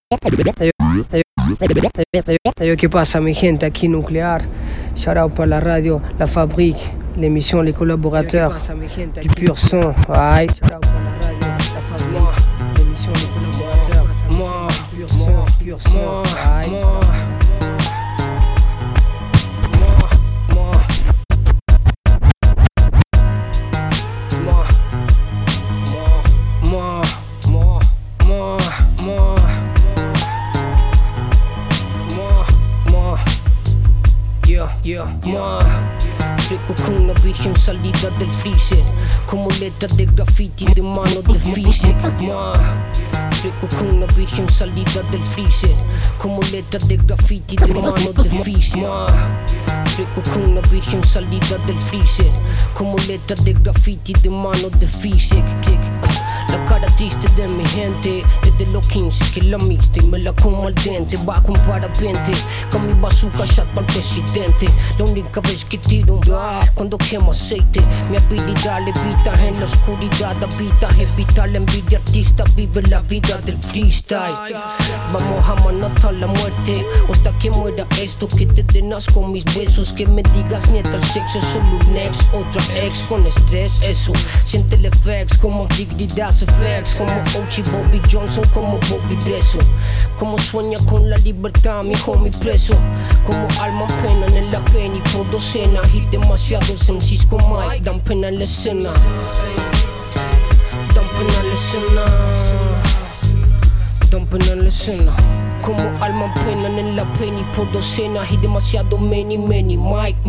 ¿Qué pasa, mi gente? Aquí Nuclear. Shout out para la radio, la fabrique, l'émission, les collaborateurs du pur son. Aïe. Shout out para la radio, la fabrique, l'émission, les collaborateurs du pur son. Aïe. Fresco con una virgen salida del freezer, como letras de graffiti de mano de Fisher. Fresco con una virgen salida del freezer, como letras de graffiti de mano de Fisher. Fresco con una virgen salida del freezer, como letras de graffiti de mano de Fisher. La cara triste de mi gente, desde los 15 que la mixta y me la como al dente. Bajo un parapente, con mi bazooka shot para el presidente. La única vez que tiro un cuando quemo aceite. Mi habilidad levita en la oscuridad, habita, evita la envidia artista, vive la vida del freestyle. Vamos a matar la muerte, o hasta que muera esto, que te denas con mis besos. Que me digas nieta, el sexo es solo un ex, otra ex con estrés, eso. Siente el effects como dignidad. Effects, como Ochi, Bobby Johnson, como Bobby preso. Como sueña con la libertad, mi homie preso. Como alma en pena en la pena y por docenas. Y demasiados MCs con Mike dan pena en la escena. Dan pena en la escena. Dan pena en la escena. Como alma en pena en la pena y por docenas. Y demasiado many, Mike.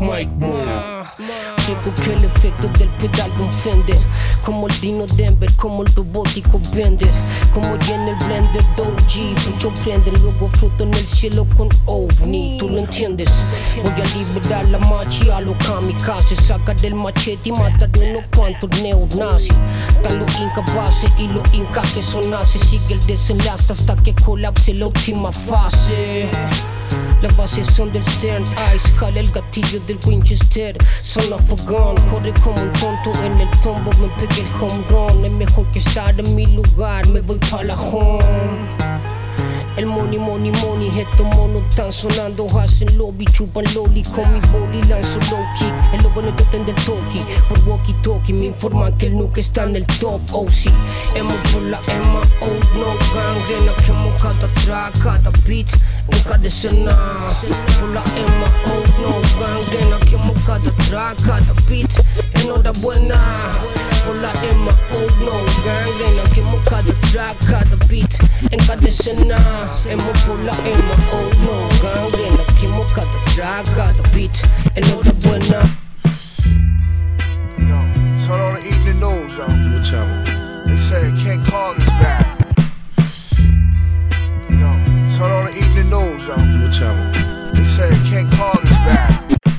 Tengo que el efecto del pedal de un Fender, como el Dino Denver, como el robótico Bender, como ya en el blender Doji, mucho prenden, luego floto en el cielo con ovni, tú lo entiendes. Voy a liberar la machi a los kamikaze, sacar del machete y matar unos cuantos neonazis. Están los incapaces y los incas que son nazis, sigue el desenlace hasta que colapse la última fase. Las bases son del Stern Ice, jala el gatillo del Winchester. Son of a gun, corre como un tonto en el tombo, me pegué el home run. Es mejor que estar en mi lugar, me voy pa' la home. El money, estos monos están sonando, hacen lobby, chupan loli, con mi boli lanzo low kick. El lobo en el totem del toki, por walkie talkie me informan que el nuke está en el top. Oh sí, hemos por la Emma, oh no, gangrena, quemo cada track, cada beat, en cada escena. Por la Emma, oh no, gangrena, quemo cada track, cada beat, enhorabuena. Por la Emma, oh no, gangrena, quemo cada track, cada beat, en cada escena. Hemos por la Emma, oh no, gangrena, quemo cada track, cada beat, enhorabuena. Yo, turn on the evening news, yo. What channel? They say King Kong is back. Yo, turn on the evening news, yo. What channel? They say King Kong is back.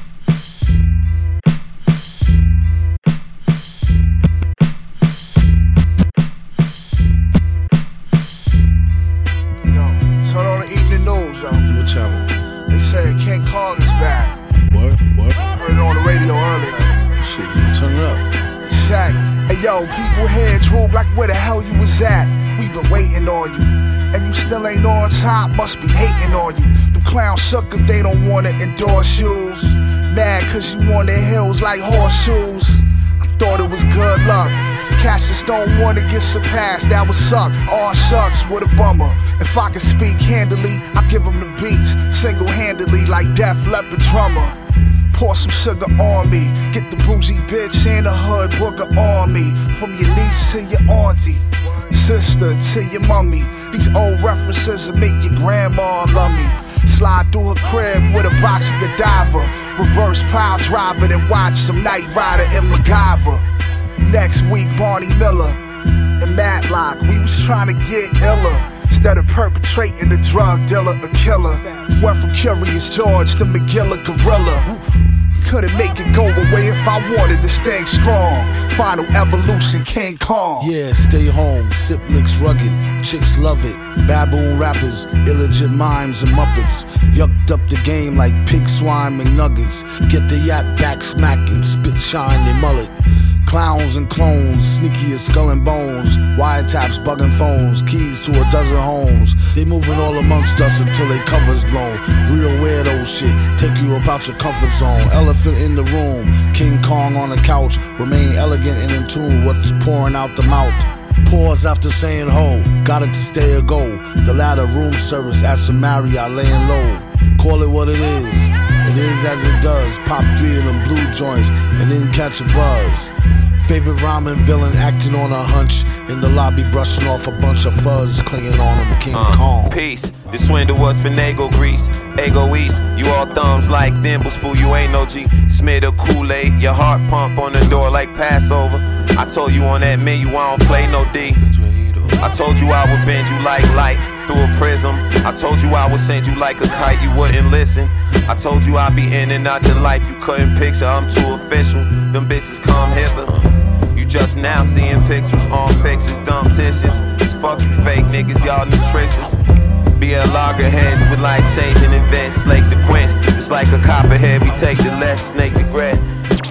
They say King Kong is back. What? Heard it on the radio earlier. Shit, you turn it up. Check. Hey yo, people here droop like where the hell you was at. We been waiting on you, and you still ain't on top. Must be hating on you. Them clowns suck if they don't wanna endorse shoes. Mad cause you on their heels like horseshoes. I thought it was good luck. Cassius don't wanna get surpassed, that would suck. Aw shucks, what a bummer. If I could speak handily, I give them the beats single-handedly like Def Leppard drummer. Pour some sugar on me, get the bougie bitch in the hood booger on me. From your niece to your auntie, sister to your mummy. These old references will make your grandma love me. Slide through her crib with a box of Godiva. Reverse pile driver, then watch some Knight Rider and MacGyver. Next week, Barney Miller and Matlock, we was trying to get iller. Instead of perpetrating the drug dealer, a killer. Went from Curious George to McGilla Gorilla. Couldn't make it go away if I wanted this thing strong. Final evolution, King Kong. Yeah, stay home, sip licks rugged, chicks love it. Baboon rappers, illegit mimes and muppets. Yucked up the game like pig swine McNuggets. Get the yap back smacking, spit shine they mullet. Clowns and clones, sneaky as skull and bones. Wiretaps, bugging phones, keys to a dozen homes. They moving all amongst us until they covers blown. Real weirdo shit, take you about your comfort zone. Elephant in the room, King Kong on the couch. Remain elegant and in tune, what's pouring out the mouth. Pause after saying ho, got it to stay or go. The latter room service at some Marriott laying low. Call it what it is as it does. Pop 3 of them blue joints and then catch a buzz. Favorite rhyming villain acting on a hunch. In the lobby brushing off a bunch of fuzz clinging on him, King Kong. Peace, the swindle was finagle grease. Ego East, you all thumbs like thimbles, fool, you ain't no G. Smith or Kool-Aid, your heart pump on the door like Passover. I told you on that menu I don't play no D. I told you I would bend you like light through a prism. I told you I would send you like a kite, you wouldn't listen. I told you I'd be in and out your life, you couldn't picture, I'm too official. Them bitches come hither. You just now seeing pixels on pictures, dumb tissues. It's fuck you fake niggas, y'all nutritious. Be a loggerheads with like changing events, slake the quench. Just like a copperhead, we take the left, snake the bread.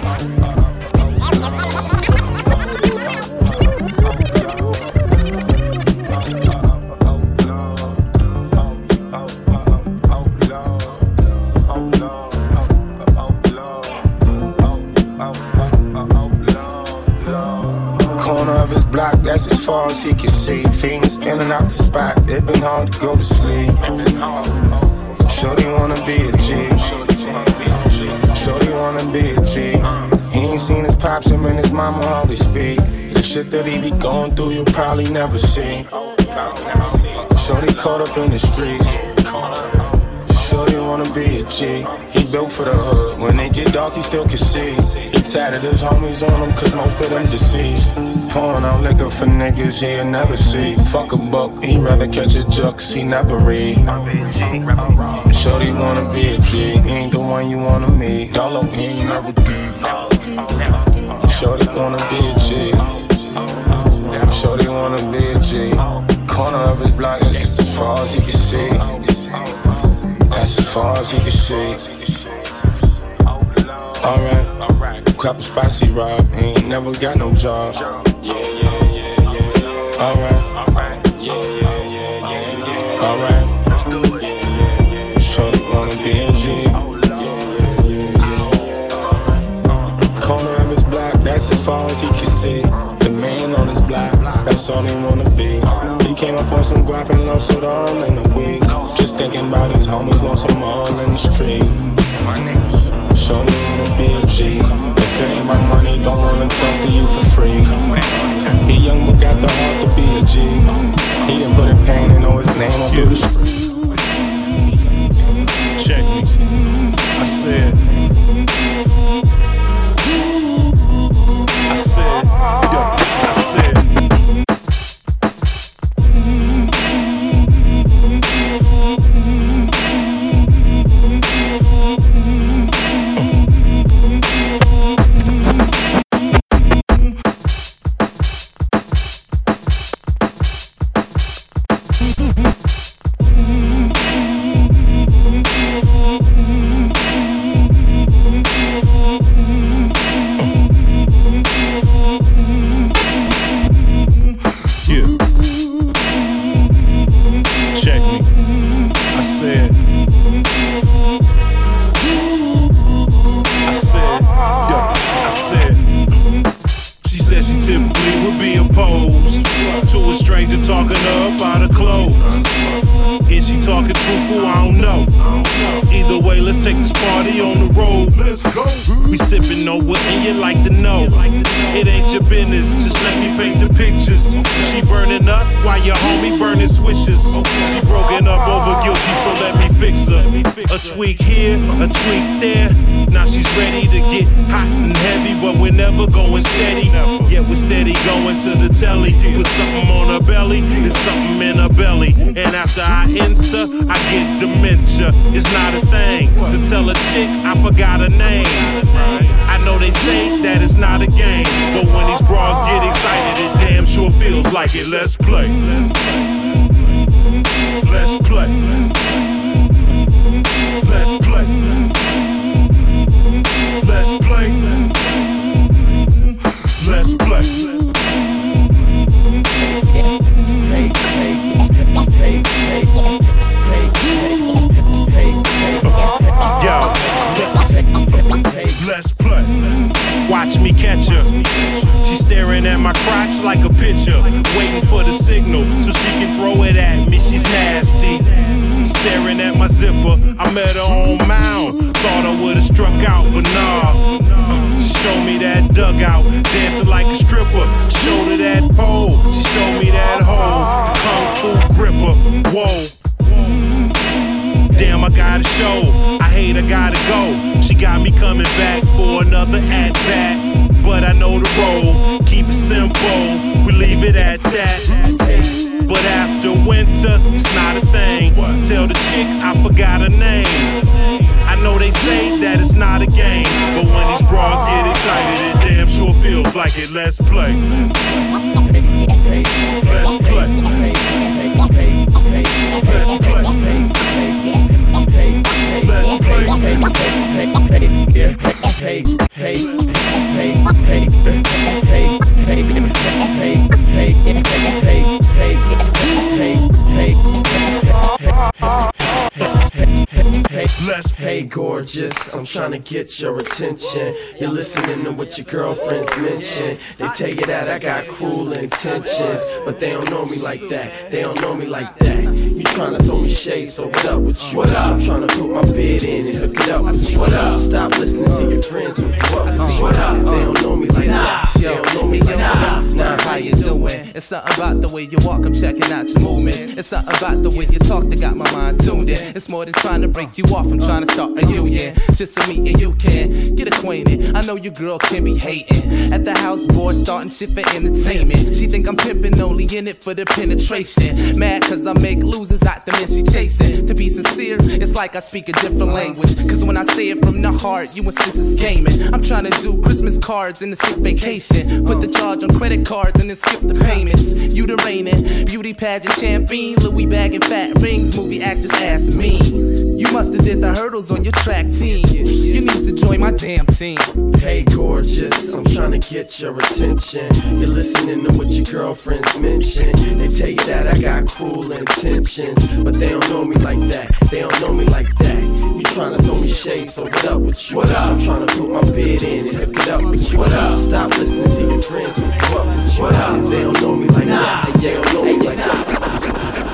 That's as far as he can see. Fiends in and out the spot, it been hard to go to sleep. Shorty wanna be a G. Shorty wanna be a G. He ain't seen his pops, him and his mama hardly speak. The shit that he be going through, you'll probably never see. Shorty caught up in the streets. Shorty wanna be a G. He built for the hood. When they get dark, he still can see. He tatted his homies on him, cause most of them deceased. Pouring out liquor for niggas he'll never see. Fuck a book, he rather catch a jux, he never read. Shorty wanna be a G. He ain't the one you wanna meet. Dollar, he ain't never do. Shorty wanna be a G. Shorty wanna be a G. Corner of his block is as far as he can see. That's as far as he can see. Alright, crap a spicy rob. He ain't never got no job. Alright, alright. Shorty wanna be a G. Corner of his block, that's as far as he can see. The man on his block, that's all he wanna be. He came up on some guap and lost it all in a week. Just thinking about his homies, lost them all in the street. Shorty wanna be a G. If it ain't my money, don't wanna talk to you for free. He young but got the heart to be a G. He done put in pain and know his name on through the streets. Check me. I said, tweak here, a tweak there. Now she's ready to get hot and heavy, but we're never going steady. Yet we're steady going to the telly. Put something on her belly, there's something in her belly. And after I enter, I get dementia. It's not a thing to tell a chick I forgot her name. I know they say that it's not a game, but when these bras get excited, it damn sure feels like it. Let's play. Let's play. Let's play. Let's play. zipper. I met her on Mound, thought I would've struck out, but nah. She showed me that dugout, dancing like a stripper. Showed her that pole, she showed me that hole. Kung Fu gripper, whoa. Damn, I gotta show. I hate I gotta go. She got me coming back for another at-bat. But I know the role, keep it simple, we leave it at that. But after winter, it's not a thing. Tell the chick I forgot her name. I know they say that it's not a game, but when these bras get excited, it damn sure feels like it. Let's play. Let's play. Let's play. Let's Hey gorgeous, I'm trying to get your attention. You're listening to what your girlfriends mention. They tell you that I got cruel intentions, but they don't know me like that. They don't know me like that. You trying to throw me shade, so what up with you? What up? I'm trying to put my bid in and hook it up with you. What up? So stop listening to your friends who grew up. What up? They don't know me like that. They don't know me like that. Nah, how you doing? It's something about the way you walk, I'm checking out your movements. It's something about the way you talk that got my mind tuned in. It's more than trying to break you off, I'm trying to start a union. Just so me and you can get acquainted. I know your girl can be hating. At the house board, starting shit for entertainment. She think I'm pimping, only in it for the penetration. Mad cause I make losers out the men she chasing. To be sincere, it's like I speak a different language. Cause when I say it from the heart, you insist it's gaming. I'm trying to do Christmas cards and a sick vacation. Put the charge on credit cards and then skip the payments. You the reigning beauty pageant champion, Louis bagging fat rings, movie actress ass me. You must have did the hurdles on your track team. You need to join my damn team. Hey gorgeous, I'm trying to get your attention. You're listening to what your girlfriends mention. They tell you that I got cruel intentions, but they don't know me like that. They don't know me like that. You trying to throw me shade, so what up with you? What up? I'm trying to put my bid in and hook it up with you. What up? So stop listening to your friends who grew up with you. What up? They don't know me like that. They don't know me like that.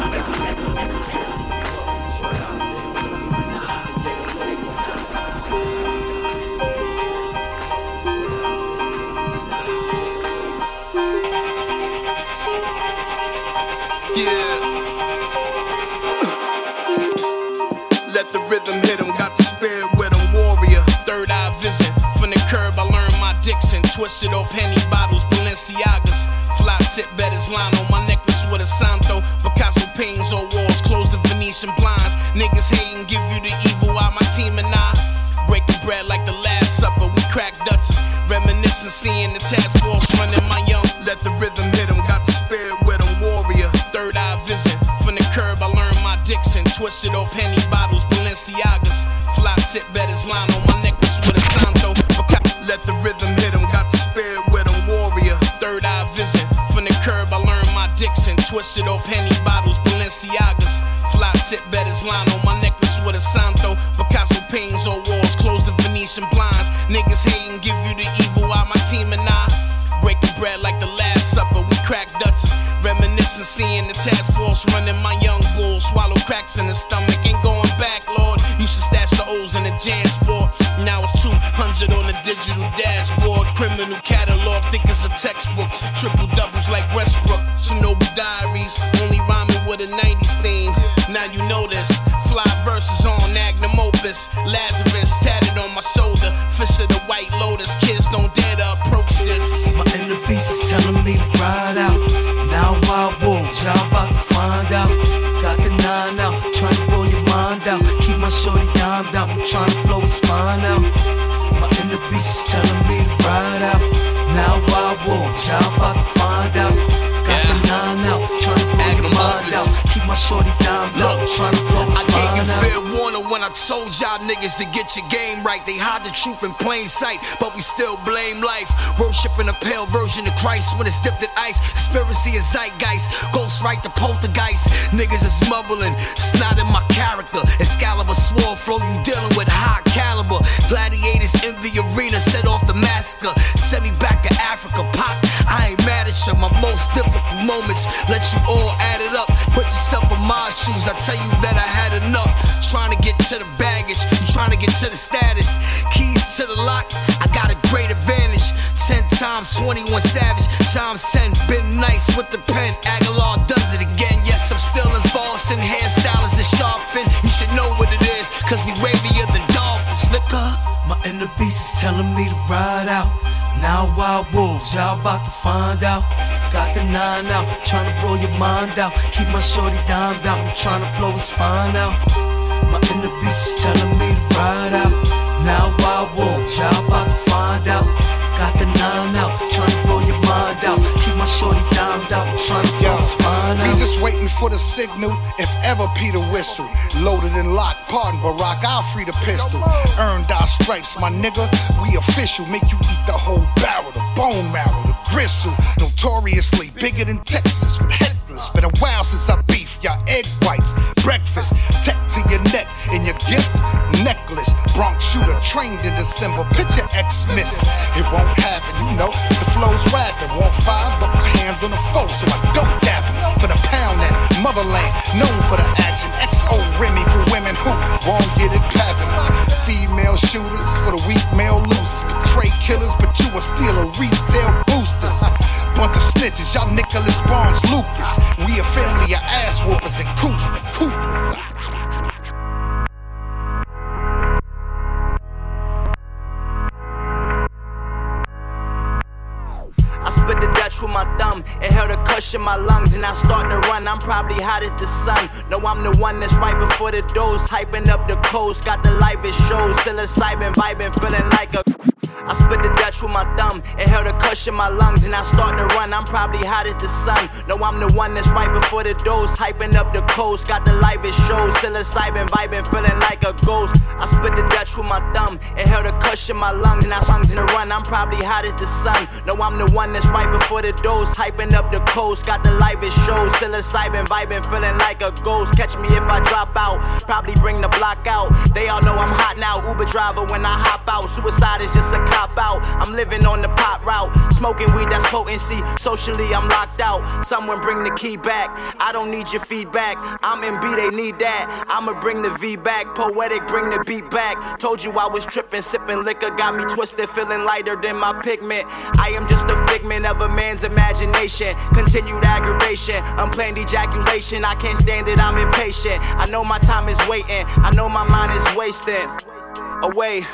Let the rhythm hit him, got the spirit with him, warrior. Third eye vision, from the curb I learned my diction. Twisted off Henny bottles, Balenciagas. Fly sit betters line on my necklace with a Santo. Picasso paintings on walls, close the Venetian blinds. Niggas hating, give you the evil out my team and I. Breaking bread like the Last Supper, we crack Dutchess. Reminiscing, seeing the task force running my young. Let the rhythm hit him, got the spirit with him, warrior. Third eye vision, from the curb I learned my diction. Twisted off Henny bottles, Balenciagas. Fly sit betters line on my necklace with a Santo. Let the rhythm hit him, got the spirit with him, warrior. Third eye vision, from the curb I learned my diction. Twisted off Henny bottles, Balenciagas. Fly sit betters line on my necklace with a Santo. Picasso paintings on walls, close the Venetian blinds. Niggas hating, give you the evil out my team and I. Breaking bread like the Last Supper, we crack Dutchess. Reminiscing, seeing the task force running my young bull. Swallow cracks in the stomach, ain't going back, Lord. Used to stash the O's in the jam sport. Now it's 200 on the digital dashboard. Criminal catalog, thick as a textbook. Triple doubles like Westbrook. Chernobyl diaries, only rhyming with a 90s theme. Now you know this. Fly verses on magnum opus. Lazarus tatted on my shoulder. Fish of the White Lotus. Kids don't dare to approach this. My inner beast is telling me to ride out. Now wild wolves, y'all about to find out. Got the 9 out, trying to blow your mind out. Keep my shorty dimed out, I'm trying to blow his spine out. My inner beast is telling me to ride out. Now wild wolves, y'all about to find out. Got the 9 out, trying to blow your mind out. Keep my shorty dimed out, trying to blow his spine out. I gave you fair warning when I told y'all niggas to get your game right. They hide the truth in plain sight, but we still blame life. Worshiping a pale version of Christ when it's dipped in ice. Conspiracy is zeitgeist, ghost right the poltergeist. Niggas is mumbling, it's not in my character. Excalibur sword flow, you dealing with high caliber. Gladiators in the arena set off the massacre. Send me back to Africa, pop. I ain't mad at you. My most difficult moments, let you all add it up. Put yourself in my shoes, I tell you that I had enough. Trying to to the baggage, you tryna get to the status. Keys to the lock, I got a great advantage. 10 times 21 Savage, times 10, been nice with the pen. Aguilar does it again, yes, I'm still in Falston. Hairstyle is the sharp fin, you should know what it is, cause we wavier than dolphins, nigga. My inner beast is telling me to ride out. Now wild wolves, y'all about to find out. Got the 9 out, tryna blow your mind out. Keep my shorty dimed out, I'm tryna blow his spine out. My inner beast is telling me to ride out. Now wild wolves, y'all about to find out. Got the 9 out, tryna blow your mind out. Keep my shorty dimed out, I'm tryna blow his spine out. We just waiting for the signal, if ever Peter whistle. Loaded and locked, pardon Barack, I'll free the pistol. Earned our stripes, my nigga, we official. Make you eat the whole barrel, the bone marrow, the gristle. Notoriously bigger than Texas with headless. Been a while since I beef, y'all egg whites. Breakfast, tech to your neck, and your gift, necklace. Bronx shooter trained in December, picture X-Miss. It won't happen, you know, the flow's rapping. Won't find, but my hands on the foe, so I don't dap him. For the pound that motherland, known for the action. XO Remy for women who won't get it poppin'. Female shooters for the weak male losers. Betray killers, but you a stealer, retail boosters. Bunch of snitches, y'all Nicholas Barnes Lucas. We a family of ass whoopers and coops the Coopers. Spit the Dutch with my thumb, it held a cushion in my lungs, and I start to run. I'm probably hot as the sun. No, I'm the one that's right before the dose, hyping up the coast. Got the livest shows, psilocybin vibing, feeling like a. I spit the Dutch with my thumb, it held a cushion in my lungs, and I start to run. I'm probably hot as the sun. No, I'm the one that's right before the dose, hyping up the coast. Got the livest shows, psilocybin vibing, feeling like a ghost. I spit the Dutch with my thumb, it held a cushion in my lungs, and I lungs in the run. I'm probably hot as the sun. No, I'm the one that's right before the dose, hyping up the coast. Got the livest shows, psilocybin vibing, feeling like a ghost. Catch me if I drop out, probably bring the block out. They all know I'm hot now, Uber driver when I hop out. Suicide is just a cop out, I'm living on the pop route. Smoking weed, that's potency, socially I'm locked out. Someone bring the key back, I don't need your feedback. I'm in B, they need that, I'ma bring the V back. Poetic, bring the beat back. Told you I was tripping, sipping liquor, got me twisted, feeling lighter than my pigment. I am just a figment of a man's imagination. Continued aggravation, unplanned ejaculation. I can't stand it, I'm impatient. I know my time is waiting, I know my mind is wasting away.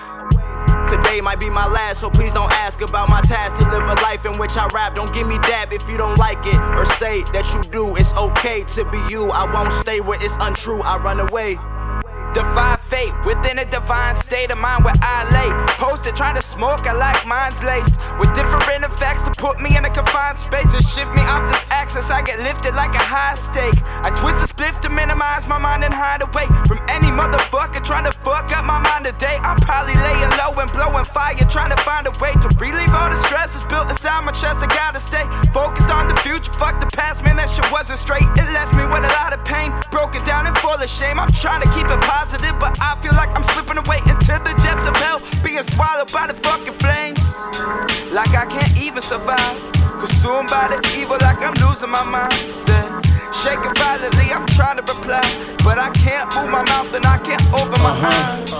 Today might be my last, so please don't ask about my task to live a life in which I rap. Don't give me dab if you don't like it, or say that you do. It's okay to be you, I won't stay where it's untrue, I run away. Defy fate, within a divine state of mind where I lay. Posted trying to smoke, I like minds laced with different effects to put me in a confined space. To shift me off this axis, I get lifted like a high stake. I twist a spliff to minimize my mind and hide away from any motherfucker trying to fuck up my mind today. I'm probably laying low and blowing fire, trying to find a way to relieve all the stress that's built inside my chest. I gotta stay focused on the future, fuck the past, man, that shit wasn't straight. It left me with a lot of pain, broken down and full of shame. I'm trying to keep it positive, but I feel like I'm slipping away into the depths of hell, being swallowed by the fucking flames. Like I can't even survive, consumed by the evil, like I'm losing my mindset. Shaking violently, I'm trying to reply, but I can't move my mouth and I can't open my eyes.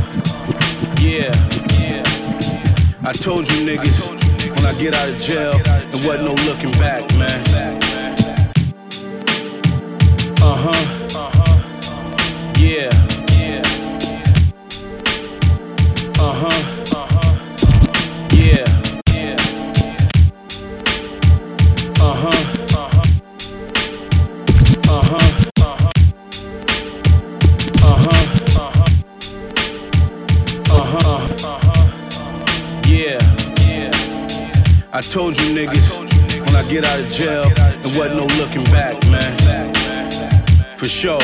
Yeah, I told you niggas when I get out of jail, there wasn't no looking back, man. Yeah. Yeah. Yeah. I told you niggas when I get out of jail, there wasn't no looking back, man. For sure.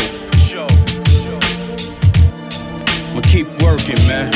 I'ma keep working, man.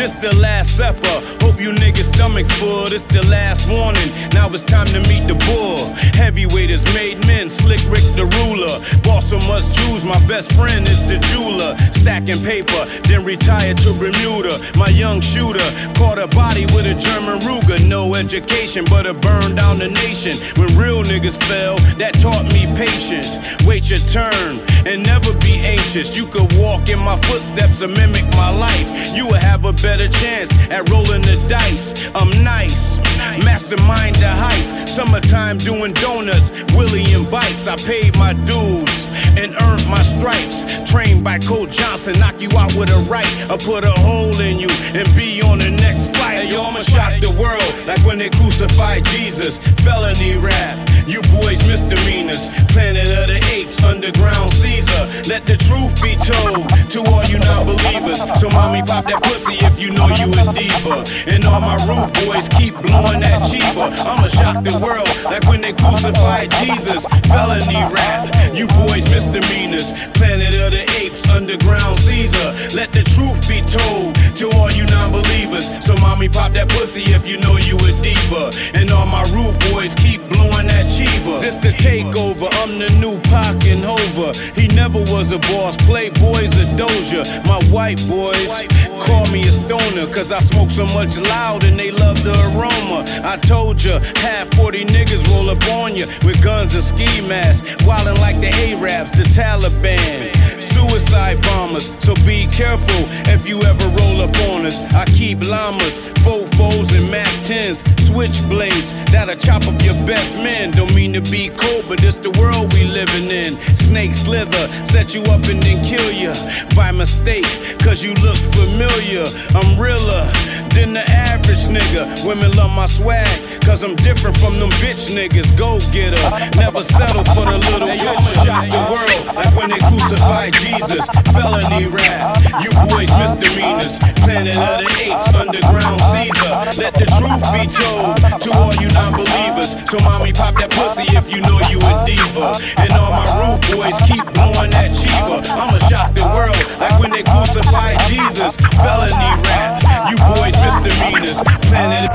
This the last supper. Hope you niggas stomach full. This the last warning. Now it's time to meet the bull. Heavyweighters made men. Slick Rick the ruler. Boss so much Jews. My best friend is the jeweler. Stacking paper, then retired to Bermuda. My young shooter caught a body with a German Ruger. No education, but it burned down the nation. When real niggas fell, that taught me patience. Wait your turn and never be anxious. You could walk in my footsteps and mimic my life. You will have a better chance at rolling the dice. I'm nice, mastermind the heist. Summertime doing donuts, Willie and bikes. I paid my dues and earned my stripes. Trained by Coach Johnson, knock you out with a right. I'll put a hole in you and be on the next flight. Hey, yo, I'ma shock the world like when they crucified Jesus. Felony rap, you boys misdemeanors. Planet of the Apes, underground Caesar. Let the truth be told to all you non-believers. So mommy pop that pussy if you know you a diva. And all my rude boys keep blowing that cheaper. I'ma shock the world like when they crucified Jesus. Felony rap, you boys misdemeanors. Planet of the Apes, underground Caesar. Let the truth be told to all you non-believers. So mommy pop that pussy if you know you a diva. And all my rude boys keep blowing that cheaper. This the takeover, I'm the new Pac and Hova. He never was a boss, Playboy's a doja. My white boys call me a stoner, cause I smoke so much loud and they love the aroma. I told ya, half 40 niggas roll up on ya with guns and ski masks, wildin' like the Arabs, the Taliban. Suicide bombers, so be careful if you ever roll up on us. I keep llamas, fofos and Mac 10s, switchblades that'll chop up your best men. Don't mean to be cold, but it's the world we living in. Snake slither, set you up and then kill you by mistake, cause you look familiar. I'm realer than the average nigga. Women love my swag, cause I'm different from them bitch niggas. Go get her, never settle for the little woman. Shock the world like when they crucified Jesus. Felony rap, you boys misdemeanors. Planet of the Apes, underground Caesar. Let the truth be told to all you non-believers. So mommy pop that pussy if you know you a diva. And all my rude boys keep blowing that cheaper. I'ma shock the world like when they crucified Jesus. Felony rap, you boys misdemeanors. Planet.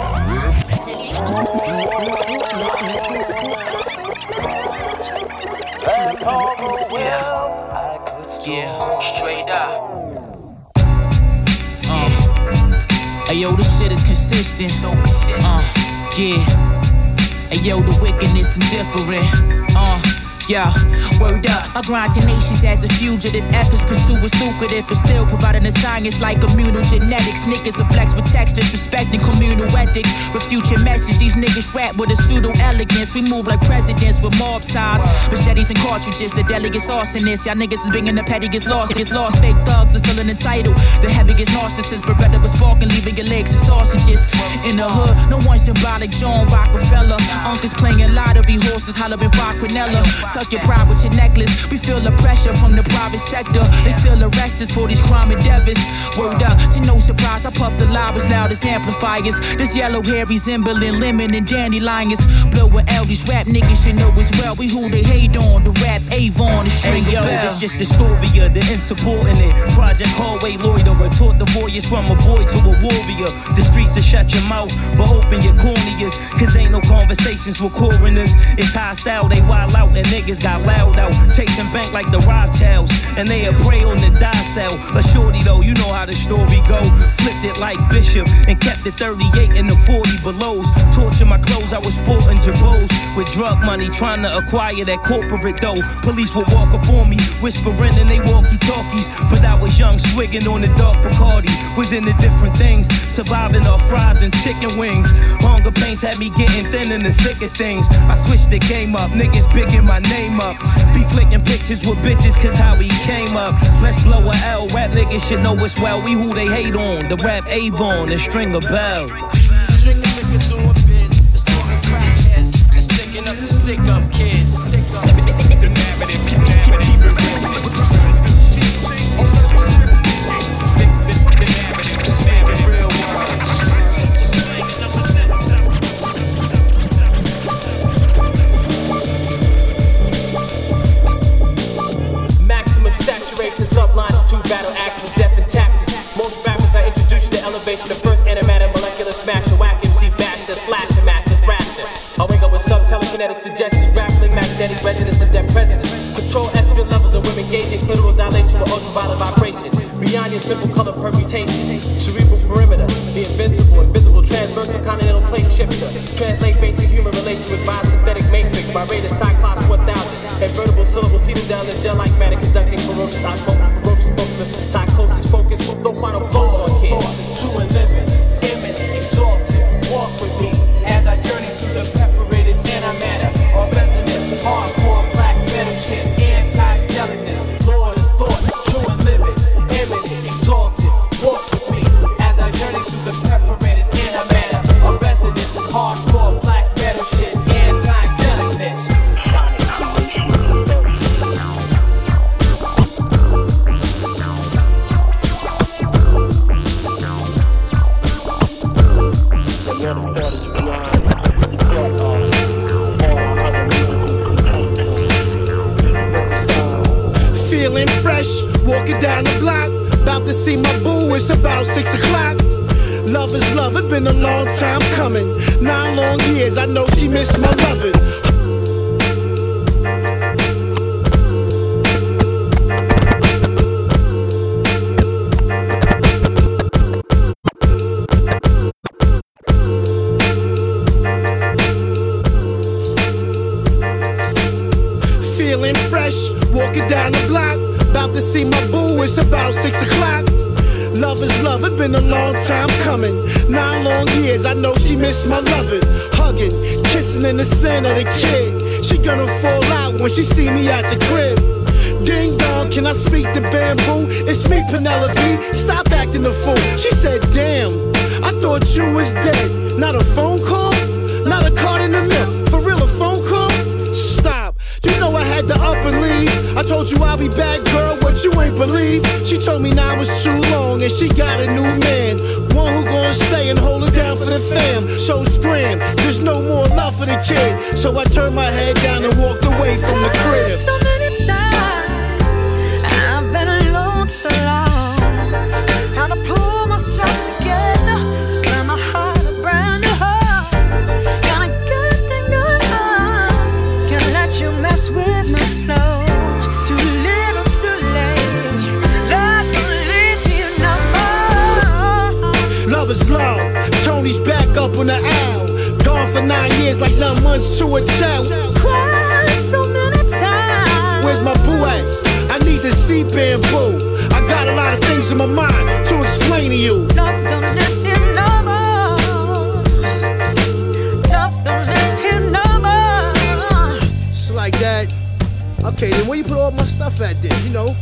Yeah, straight up. Hey yo, this shit is consistent. So consistent. Yeah. Hey yo, the wickedness indifferent. Yeah, word up, my grind tenacious as a fugitive. Efforts pursue is lucrative, but still providing the science like communal genetics. Niggas are flex with textures, respecting communal ethics. With future message, these niggas rap with a pseudo elegance. We move like presidents with mob ties, machetes and cartridges. The delegates arsonists, y'all niggas is bringing the petty gets lost. Fake thugs is feeling entitled. The heaviest narcissists, Beretta with spark and leaving your legs as sausages. In the hood, no one symbolic. John Rockefeller, uncles playing lottery, horses hollering Quinella. Tuck your pride with your necklace. We feel the pressure from the private sector. They still arrest us for these crime endeavors. Word up, to no surprise, I puff the loud as loud as amplifiers. This yellow hair resembling lemon and dandelions. Blow with L, these rap niggas should know as well. We who they hate on, the rap Avon, the string hey, of yo, bell. It's just the story of the insubordinate. Project hallway loiterer, taught the voyage from a boy to a warrior. The streets will shut your mouth, but open your corneas. Cause ain't no conversations with coroners. It's hostile, they wild out and niggas got loud out, chasing bank like the Rothschilds, and they a prey on the die cell. A shorty though, you know how the story go. Flipped it like Bishop and kept it 38 in the 40 belows. Torture my clothes, I was sporting jabos with drug money, trying to acquire that corporate dough. Police would walk up on me, whispering in they walkie-talkies, but I was young, swigging on the dark Bacardi. Was into different things, surviving off fries and chicken wings. Hunger pains had me getting thin in the thick of things. I switched the game up, niggas bigging my name up. Be flicking pictures with bitches, cause how he came up. Let's blow a L, rap niggas should know us well. We who they hate on, the rap Avon and string a bell. Trigger to a bitch, it's throwing crackheads and sticking up the stick up kids. The narrative, real world. Maximum saturation, sublime to battle axes, death and tactics. Most rappers I introduce you to Subtelekinetic suggestions, grappling magnetic resonance of dead presidents. Control estrogen levels of women gauging clitoral dilation with ultraviolet vibration. Beyond your simple color permutation. Cerebral perimeter, the invincible, invisible, transversal continental plate shifter. Translate basic human relation with biosynthetic matrix. By rate of Cyclops 1000. Invertible syllable seated down in gel like matter conducting ferocious osmosis, psychosis, focus, no final blow on kids. True and living, image, exalted. Walk with me as I journey through the perforated antimatter. Or resonance, hardcore, black metal shit, anti-gelicness, Lord of thought, true and living, image, exalted. Walk with me as I journey through the perforated antimatter. Or resonance, hardcore, black metal shit, anti-gelicness. Feeling fresh, walking down the block, about to see my boo, it's about 6 o'clock. Love is love, it's been a long time coming. 9 long years, I know she missed my loving. Feeling fresh, walking down the block, about to see my boo, it's about 6 o'clock. Love is love, it's been a long time coming. 9 long years, I know she missed my loving. Hugging, kissing in the center of the kid. She gonna fall out when she see me at the crib. Ding dong, can I speak to Bamboo? It's me, Penelope, stop acting a fool. She said, damn, I thought you was dead. Not a phone call, not a card in the mail. For real, a phone call? Stop, you know I had to up and leave. I told you I'll be back, girl, what you ain't believe. She told me now it's too long and she got a new man. One who gonna stay and hold it down for the fam. So scram, there's no more love for the kid. So I turned my head down and walked away from the crib. So many times I've been alone so long. How to pull myself together, learn my heart a brand new heart. Got a good thing going on, can't let you mess with my flow. Too little, too late, love don't leave me no more. Love is love, Tony's back up on the owl. Gone for 9 years like 9 months to a child. Cried so many times. Where's my boo at? I need to see Bamboo. I got a lot of things in my mind to explain to you. Love don't live here no more. Love don't live here no more. It's like that. Okay, then where you put all my stuff at then?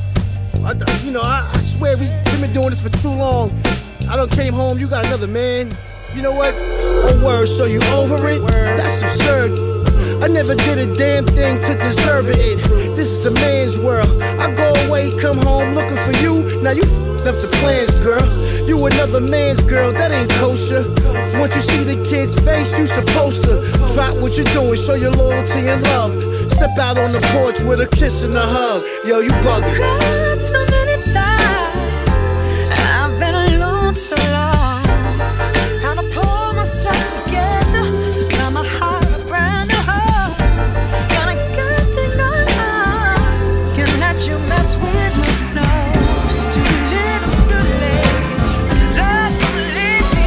I swear we've been doing this for too long. I done came home, you got another man. You know what? Oh, word, so you over it? That's absurd. I never did a damn thing to deserve it. This is a man's world. I go away, come home looking for you. Now you f***ed up the plans, girl. You another man's girl, that ain't kosher. Once you see the kid's face, you supposed to drop what you're doing, show your loyalty and love. Step out on the porch with a kiss and a hug. Yo, you bugging. Cried so many times, I've been alone so long. How to pull myself together, got my heart a brand new heart. Got a good thing going on, can't let you mess with me, no. Too little, too late, love don't leave me.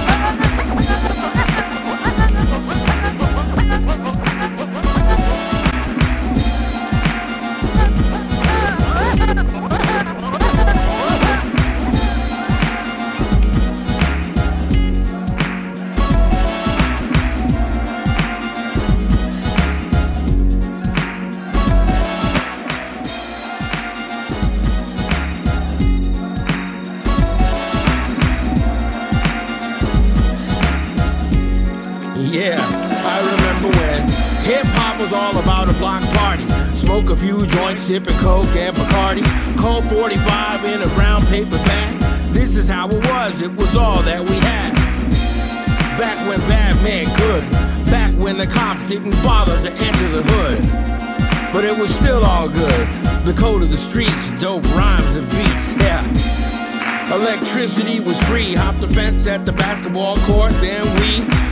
Yeah, I remember when hip-hop was all about a block party. Smoke a few joints, sipping Coke and Bacardi. Cold 45 in a brown paper bag. This is how it was all that we had. Back when bad men could. Back when the cops didn't bother to enter the hood. But it was still all good. The code of the streets, dope rhymes and beats, yeah. Electricity was free. Hopped the fence at the basketball court. Then we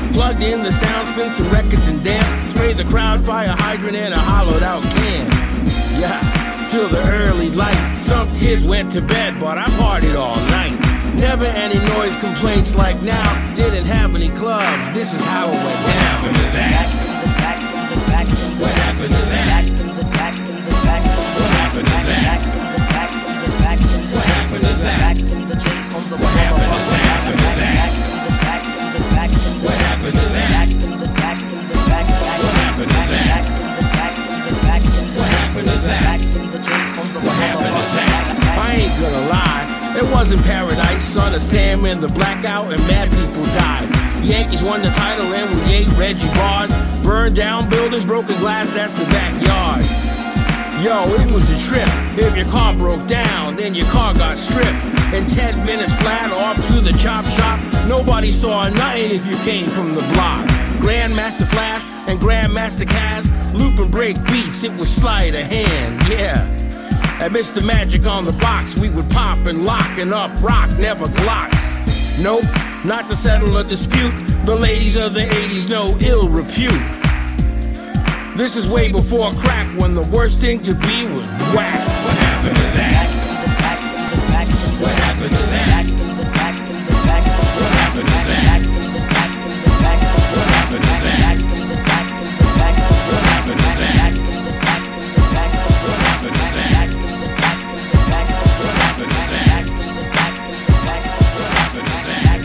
Plugged in the sound, spin some records and dance. Spray the crowd, fire hydrant and a hollowed out can. Yeah, till the early light. Some kids went to bed, but I partied all night. Never any noise complaints like now. Didn't have any clubs, this is how it went down. What happened to that? What happened to that? What happened to that? What happened to that? What happened to that? What happened to that? What happened to that? What happened to that? What happened to that? I ain't gonna lie, it wasn't paradise. Son of Sam and the blackout and mad people died. Yankees won the title and we ate Reggie bars. Burned down buildings, broken glass, that's the backyard. Yo, it was a trip. If your car broke down, then your car got stripped. In 10 minutes flat off to the chop shop. Nobody saw nothing if you came from the block. Grandmaster Flash and Grandmaster Cass, loop and break beats, it was sleight of hand, yeah. At Mr. Magic on the box, we would pop and lock and up rock, never Glocks. Nope, not to settle a dispute. The ladies of the 80s know ill repute. This is way before crack, when the worst thing to be was whack. What happened to that? What happened to that? What happened to that? What happened to that? What happened to that? What happened to that? What happened to that? What happened to that?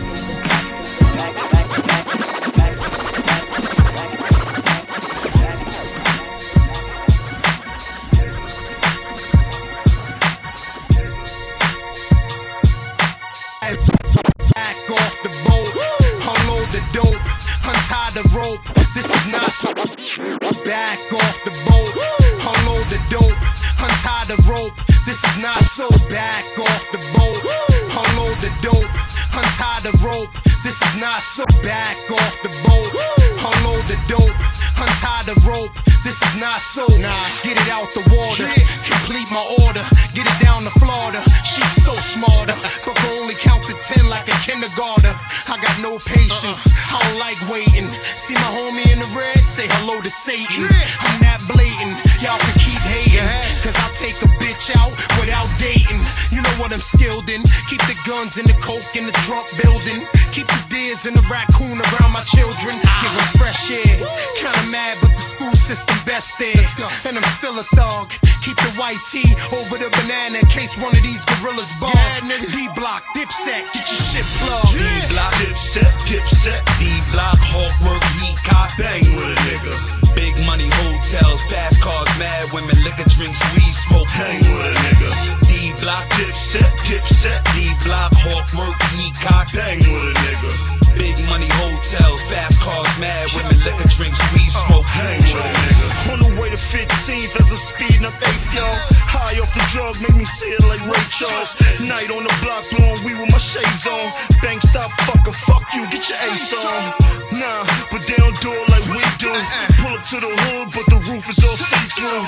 Back off the boat, unload the dope, untie the rope. This is not so. Back off the boat, unload the dope, untie the rope. This is not so. Back off the boat, unload the dope, untie the rope. This is not so. Back off the boat, unload the dope, untie the rope. This is not so. Nah, get it out the water, complete my order, get it down to Florida. She's so smarter, but can only count to 10 like a kindergartner. I got no patience, I don't like waiting. See my homie in the red, say hello to Satan. I'm that blatant, y'all can keep hating, cause I'll take a bitch out without dating. You know what I'm skilled in, keep the guns and the coke in the trunk building. Keep the deers and the raccoon around my children. Give them fresh air, kinda mad but the school system best there. And I'm still a thug, keep the white tee over the banana in case one of these gorillas bug. D-Block, Dipset, get your shit plugged. D-Block, Dipset, D-Block, Hawk work, heat cock, bang with a nigga. Big money hotels, fast cars, mad women, liquor drinks, weed smoke, hang with a nigga. D-Block, Dipset, D-Block, Hawk work, heat cock, bang with a nigga. Big money hotels, fast cars, mad women, liquor drinks, weed smoke, hang with a nigga. On the way to 15th as a speeding up 8th, y'all. High off the drug, make me see it like Ray Charles. Night on the block, blowing weed with my shades on. Bank stop, fuck you, get your ace on. Nah, but they don't do it like we do. Pull up to the hood, but the roof is all see-through.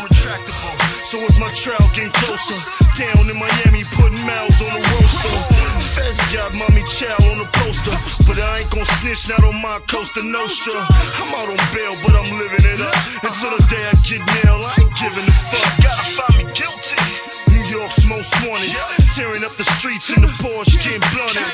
So as my trail getting closer, down in Miami, putting miles on the roaster. Feds got mommy chow on the poster, but I ain't gon' snitch, not on my Costa Nostra. I'm out on bail, but I'm living it up. Until the day I get nailed, I ain't giving a fuck. Gotta find me guilty. New York's most wanted, tearing up the streets in the Porsche, getting blunted.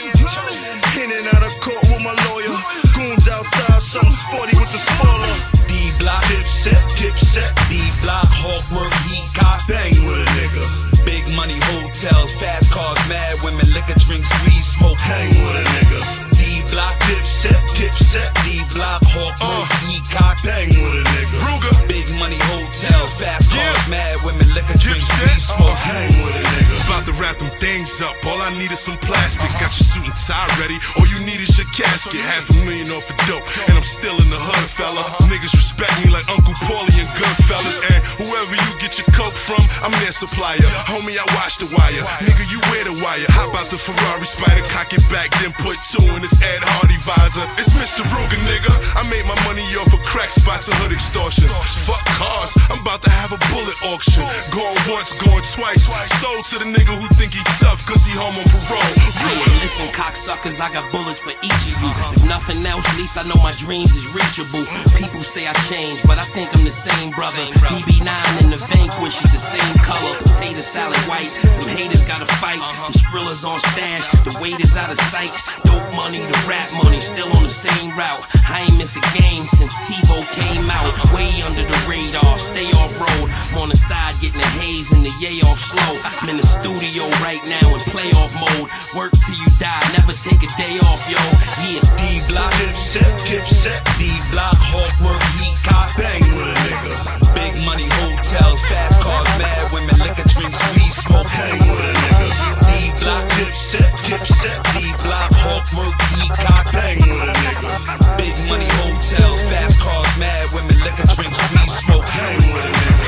In and out of court with my lawyer. Goons outside, something sporty with the spoiler. D-Block, Dipset, D-Block, Hawk work, heat cock, bang with a nigga. Big money hotels, fast cars, mad women, liquor drinks, weed smoke, hang with a nigga. D-Block, Dipset, D-Block, Hawk work, heat cock, bang with a nigga. Ruger, big money hotels, fast cars, mad women, liquor drinks, weed smoke, hang with a nigga. About to wrap them things up, all I need is some plastic. Got your suit and tie ready, all you need is your casket. $500,000 off a dope, and I'm still in the hood, fella. Niggas respect me like Uncle Paulie and Goodfellas. And whoever you get your coke from, I'm there supplier. Homie, I watch the wire. Nigga, you wear the wire. How about the Ferrari Spider? Cock it back, then put 2 in his Ed Hardy visor. It's Mr. Ruger, nigga. I made my money off of crack spots and hood extortions. Fuck cars, I'm about to have a bullet auction. Going once, going twice. Sold to the nigga who think he tough, cause he home on parole. Yeah, listen, cocksuckers, I got bullets for each of you. If nothing else, at least I know my dreams is reachable. People say I changed, but I think I'm the same brother. BB9 and the Vanquish is the same color. Potato salad white, them haters gotta fight. The Skrilla's on stash, the weight is out of sight. Dope money, the rap money, still on the same route. I ain't miss a game since TiVo came out. Way under the radar, stay off road. I'm on the side getting the haze and the yay off slow. I'm in the studio right now in playoff mode. Work till you die, never take a day off, yo. Yeah, D-Block, Dipset, D-Block, hard work, heat cop, bang with a nigga. Big money hotels, fast cars, mad women, liquor, drinks, weed, smoke, hang with a nigga. D-Block, Dipset, D-Block, hard work, heat cop, bang with a nigga. Big money hotels, fast cars, mad women, liquor, drinks, weed, smoke, hang with a nigga.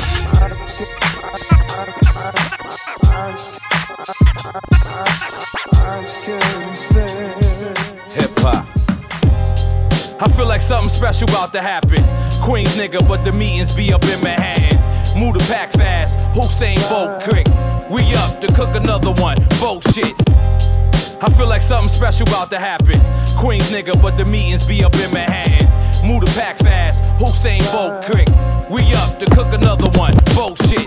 Hip-hop. I feel like something special about to happen. Queens nigga, but the meetings be up in Manhattan. Move the pack fast, Hussein Bolt quick. We up to cook another one, bullshit. I feel like something special about to happen. Queens nigga, but the meetings be up in Manhattan. Move the pack fast, Hussein Bolt quick. We up to cook another one, bullshit.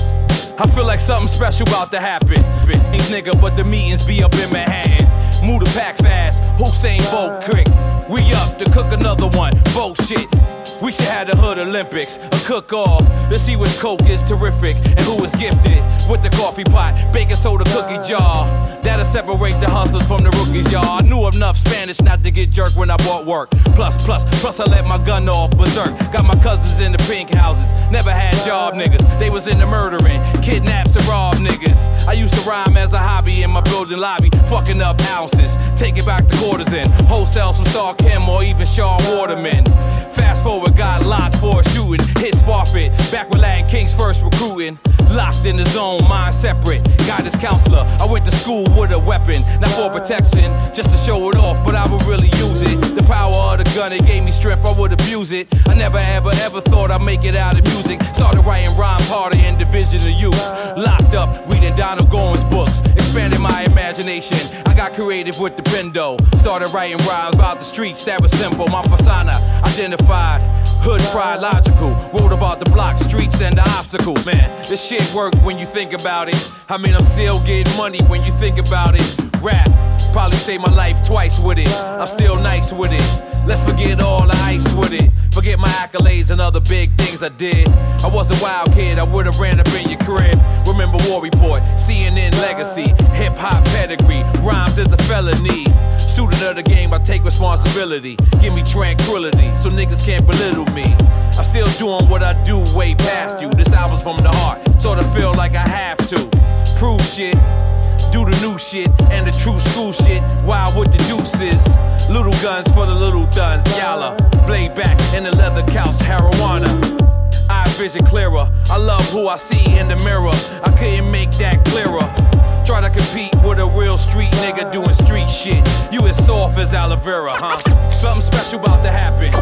I feel like something special about to happen. Queens nigga, but the meetings be up in Manhattan. Move the pack fast, Hussein Bolt quick. We up to cook another one, bullshit. We should have the Hood Olympics, a cook-off. Let's see which coke is terrific and who is gifted with the coffee pot, baking soda cookie jar. That'll separate the hustlers from the rookies, y'all. I knew enough Spanish not to get jerked when I bought work. Plus I let my gun off berserk. Got my cousins in the pink houses, never had job niggas. They was into murdering, kidnaps and rob niggas. I used to rhyme as a hobby in my building lobby, fucking up ounces, taking back the quarters then. Wholesale some Star Kim or even Shaw Waterman. Fast forward, got locked for a shooting. Hit Sparfit, back with Latin Kings first recruiting. Locked in the zone, mind separate. Guidance counselor, I went to school with a weapon. Not for protection, just to show it off, but I would really use it. The power of the gun, it gave me strength, I would abuse it. I never ever thought I'd make it out of music. Started writing rhymes harder in Division of Youth. Locked up, reading Donald Goins books. Expanded my imagination, I got creative with the bendo. Started writing rhymes about the streets, that was simple. My persona, identified, hood pride logical. Wrote about the block, streets, and the obstacles. Man, this shit work when you think about it. I mean, I'm still getting money when you think about it. Rap, probably saved my life twice with it. I'm still nice with it. Let's forget all the ice with it. Forget my accolades and other big things I did. I was a wild kid, I would've ran up in your crib. Remember War Report, CNN legacy, hip-hop pedigree. Rhymes is a felony. Student of the game, I take responsibility. Give me tranquility, so niggas can't belittle me. I'm still doing what I do way past you. This album's from the heart, sorta feel like I have to. Prove shit, do the new shit, and the true school shit. Wild with the deuces. Little guns for the little duns. Yalla, blade back in the leather couch, marijuana. Eye vision clearer. I love who I see in the mirror. I couldn't make that clearer. Try to compete with a real street nigga doing street shit. You as soft as aloe vera, huh? Something special about to happen.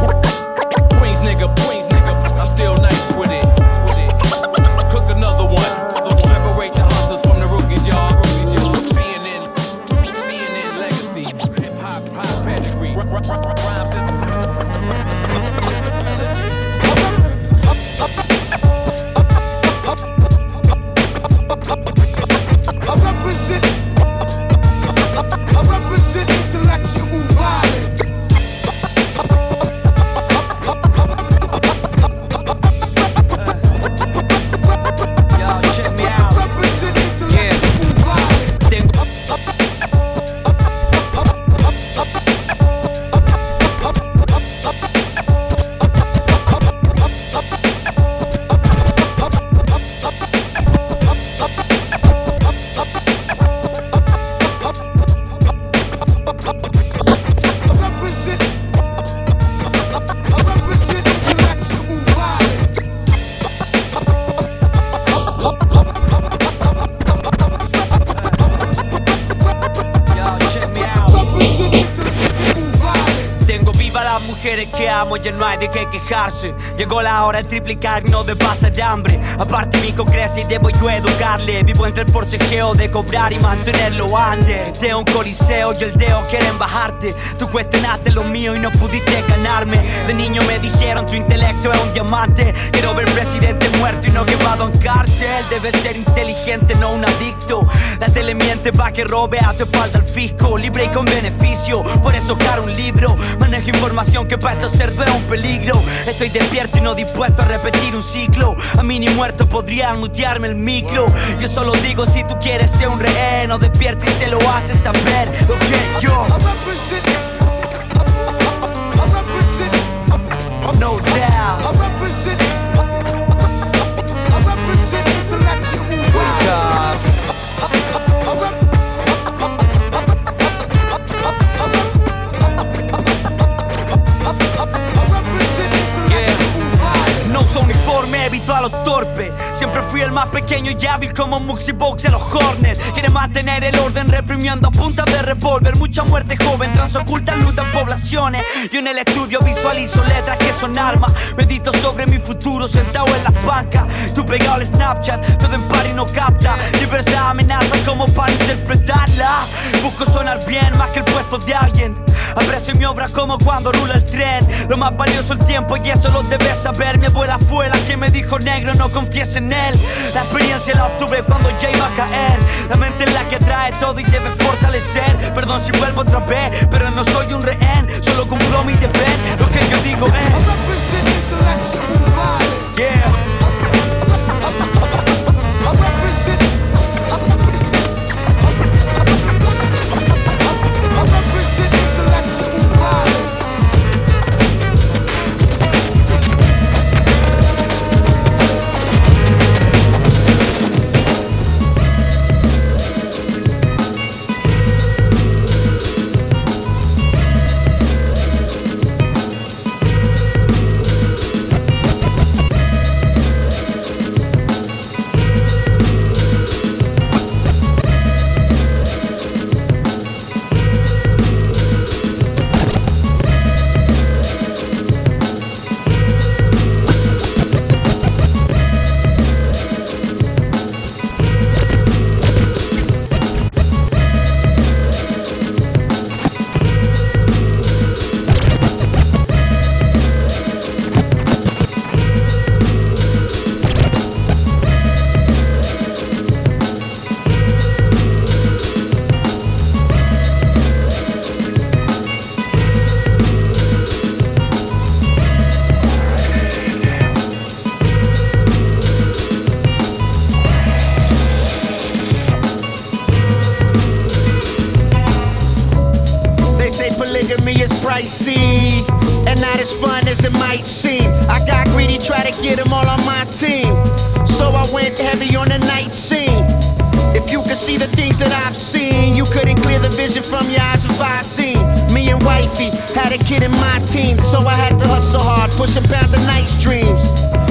Queens nigga, I'm still nice with it. Cook another one. Separate the hustlers from the rookies, y'all. CNN legacy, hip hop pedigree. Rhymes is a I represent intellectual violence. estamos, ya no hay de qué quejarse. Llegó la hora de triplicar, no de pasar hambre. Aparte mi hijo crece y debo yo educarle. Vivo entre el forcejeo de cobrar y mantenerlo antes. De un coliseo y el deo quieren bajarte. Tú cuestionaste lo mío y no pudiste ganarme. De niño me dijeron tu intelecto es un diamante. Quiero ver presidente muerto y no quemado en cárcel. Debes ser inteligente, no un adicto. La tele miente pa' que robe a tu espalda el fisco. Libre y con beneficio, por eso caro un libro. Manejo información que para estos cerdos es un peligro. Estoy despierto y no dispuesto a repetir un ciclo. A mí ni muerto podrían mutearme el micro. Yo solo digo si tú quieres ser un rehén o despierta y se lo haces saber. Ok, yo no doubt. No uso uniforme, evito a los torpes. Siempre fui el más pequeño y hábil como Muxi Box en los Hornets. Quiere mantener el orden reprimiendo a punta de revólver. Mucha muerte joven, transocultan lutas poblaciones. Yo en el estudio visualizo letras que son armas. Medito sobre mi futuro sentado en las bancas. Tú pegado al Snapchat, todo en par y no capta. Diversas amenazas como para interpretarla. Busco sonar bien más que el puesto de alguien. Aprecio mi obra como cuando rula el tren. Lo más valioso el tiempo y eso lo debes saber. Mi abuela fue la que me dijo negro, no confíes en él. La experiencia la obtuve cuando ya iba a caer. La mente es la que trae todo y debe fortalecer. Perdón si vuelvo otra vez, pero no soy un rehén. Solo cumplo mi deber, lo que yo digo es yeah. pricey and not as fun as it might seem. I got greedy, try to get them all on my team, so I went heavy on the night scene. If you could see the things that I've seen, you couldn't clear the vision from your eyes if I seen. Me and wifey had a kid in my team, so I had to hustle hard, pushing pounds of nice dreams.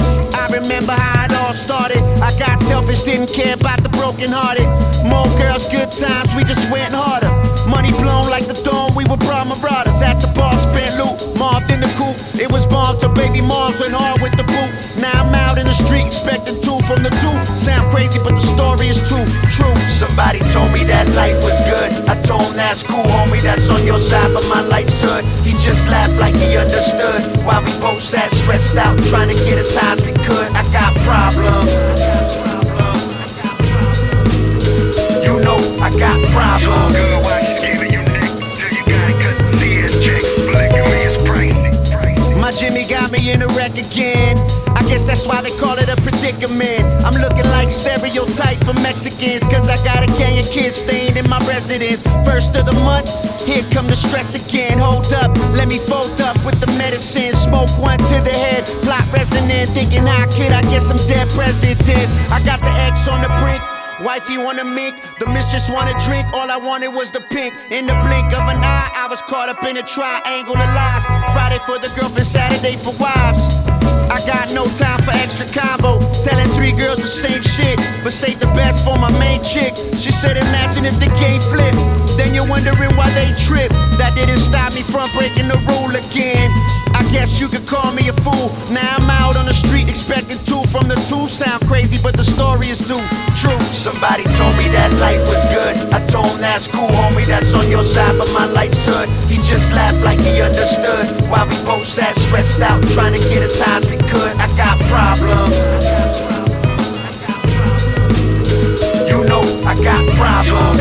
I remember how it all started. I got selfish, didn't care about the brokenhearted. More girls, good times, we just went harder. Money blown like the dawn, we were bra marauders. At the bar, spent loot, mobbed in the coupe. It was bombed till baby moms went hard with the boot. Now I'm out in the street, expecting two from the two. Sound crazy, but the story is true. Somebody told me that life was good. I told him that's cool, homie, that's on your side, but my life's hood. He just laughed like he understood, while we both sat stressed out, trying to get as high as we could. I got problems. You know I got problems. My Jimmy got me in a wreck again. I guess that's why they call it a predicament. I'm looking like stereotype for Mexicans, cause I got a gang of kids staying in my residence. First of the month, here come the stress again. Hold up, let me fold up with the medicine. Smoke one to the head, plot resonant. Thinking how could I get some dead presidents? I got the X on the brink. Wifey wanna mink, the mistress wanna drink. All I wanted was the pink. In the blink of an eye, I was caught up in a triangle of lies. Friday for the girlfriend, Saturday for wives. I got no time for extra combo, telling three girls the same shit, but this ain't the best for my main chick. She said imagine if the game flipped. Then you're wondering why they trip. That didn't stop me from breaking the rule again. I guess you could call me a fool. Now I'm out on the street expecting two from the two. Sound crazy, but the story is too true. Somebody told me that life was good. I told him that's cool, homie, that's on your side, but my life's hood. He just laughed like he understood. While we both sat stressed out, trying to get as high as we could. I got problems. You know I got problems.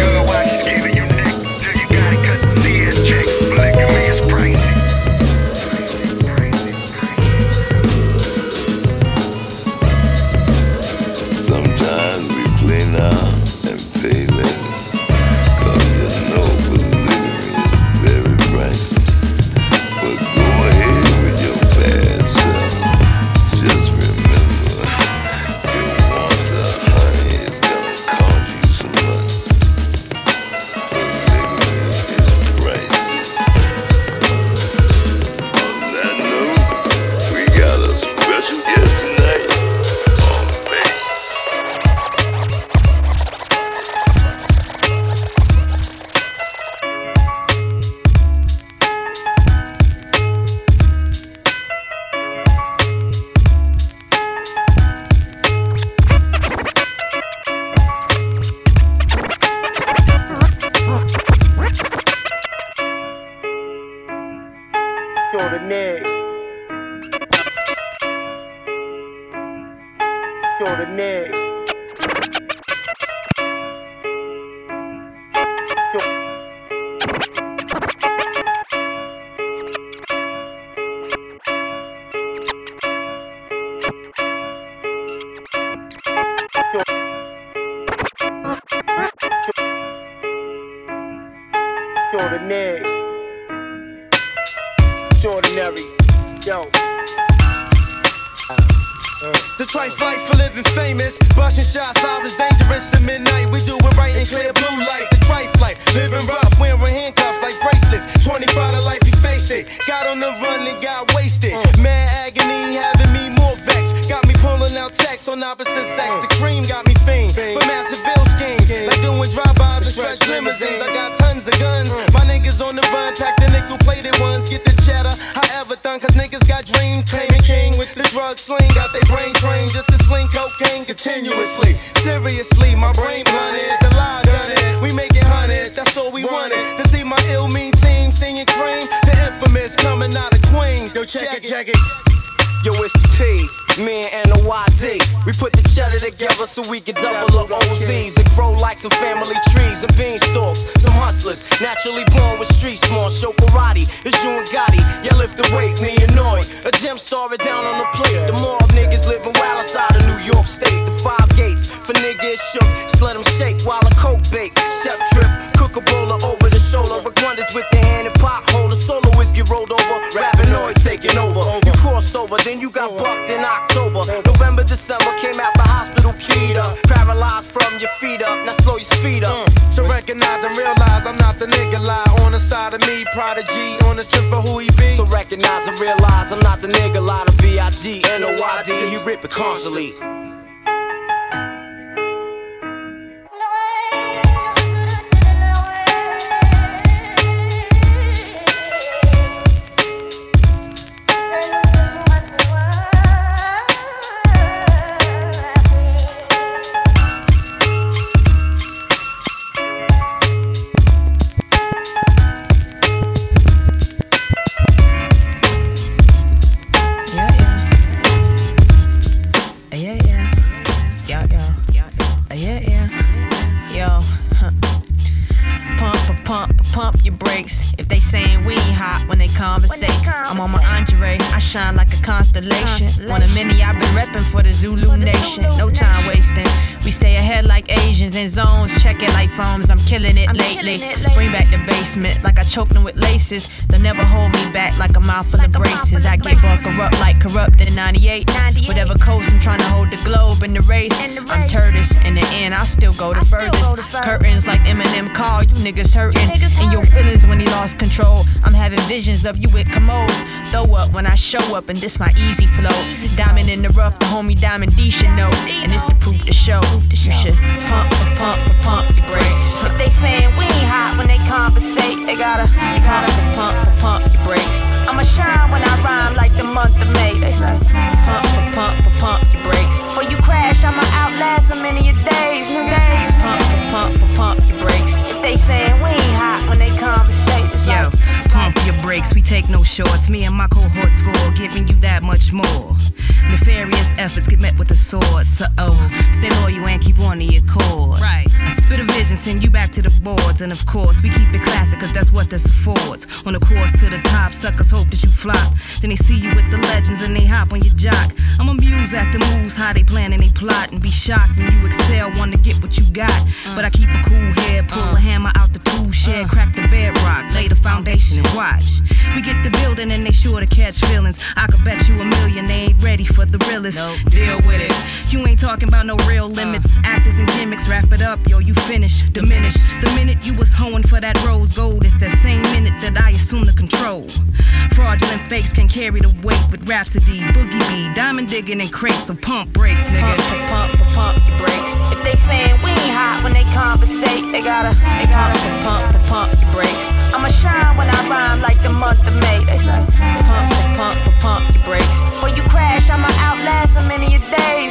Extraordinary, yo. The trife life for living famous. Busting shots, I was dangerous at midnight. We do it right in clear blue light. The trife life, living rough, wearing handcuffs like bracelets. 25 to life, he faced it. Got on the run and got wasted. Mad agony, having me more vexed. Got me pulling out texts on opposite sex. The cream got me famed for massive bill schemes. Like doing drive-bys and stretch limousines. I got tons of guns. My niggas on the run, pack the nickel-plated ones. Get the cheddar, however done, cause niggas got dreams. Claiming king with the drug sling. Got they brain trained just to sling cocaine continuously. Seriously, my brain blunted. The lie done it. We making hundreds, that's all we wanted. To see my ill mean team singing cream. The infamous coming out of Queens. Yo, check it. Yo, it's the P, me and the YD. We put the cheddar together so we can double the OZs and grow like some family trees and beanstalks. Some hustlers, naturally born with street small. Show karate, it's you and Gotti. Yeah, lift the weight, me and Noy. A gem star it down on the plate. The mob niggas living wild outside of New York State. The 5 gates for niggas shook. Just let them shake while a coke bake. Chef trip, cook a bowler over the shoulder. But wonders with the hand and pothole. The solo whiskey rolled over. Rapping Noy taking over. You crossed over, then you got bucked in October. November, December, came out the hospital keyed up. Paralyzed from your feet up, now slow your speed up. To recognize and realize I'm not the nigga lie. On the side of me, Prodigy, on the strip for who he be. So recognize and realize I'm not the nigga lie. To B.I.G. N.O.Y.D. He rip it constantly. Pump your brakes if they saying we ain't hot when they conversate. I'm on my Andre, I shine like a constellation. One of many I've been repping for the Zulu nation. No time wasting, we stay ahead like Asians in zones, check it like phones. I'm killing it lately. Bring back the basement like I choked them with laces. They'll never hold me back like a mouth full of braces. I get more corrupt like corrupt in 98. Whatever coast, I'm trying to hold the globe in the race. I'm Turtis. In the end, I'll still go the furthest. Curtains like Eminem call, you niggas hurting. In your feelings when he lost control. I'm having visions of you with commodes. Throw up when I show up, and this my easy flow. Diamond in the rough, the homie Diamond D should know. And it's the proof to show. You should pump your brakes. If they saying we ain't hot when they conversate, they gotta pump your brakes. I'ma shine when I rhyme like the month of May. They say pump your brakes. When you crash, I'ma outlast so many of days. Pump your brakes. If they saying we ain't hot when they conversate, yo, pump your brakes. We take no shorts. Me and my cohort score, giving you that much more. Nefarious efforts get met with the sword. So stay loyal and keep on to your cord. Right. I spit a vision, send you back to the boards. And of course, we keep it classic, cause that's what this affords. On the course to the top, suckers hope that you flop. Then they see you with the legends and they hop on your jock. I'm amused at the moves, how they plan and they plot. And be shocked when you excel, want to get what you got. But I keep a cool head, pull a hammer out the tool shed, crack the bedrock, lay the foundation and watch. We get the building and they sure to catch feelings. I could bet you $1 million they ain't ready for the realest. Nope. Deal with it. You ain't talking about no real limits. Actors and gimmicks, wrap it up, yo, you finish, diminish. The minute you was hoeing for that rose gold, it's that same minute that I assume the control. Fraudulent fakes can carry the weight with Rhapsody, Boogie B, diamond digging and crates, so pump brakes, nigga. Pump your brakes. If they saying we ain't hot when they conversate, they gotta pump your brakes. I'ma shine when I rhyme like the month of May. They say pump your brakes. When you crash, I'ma outlast so many of days.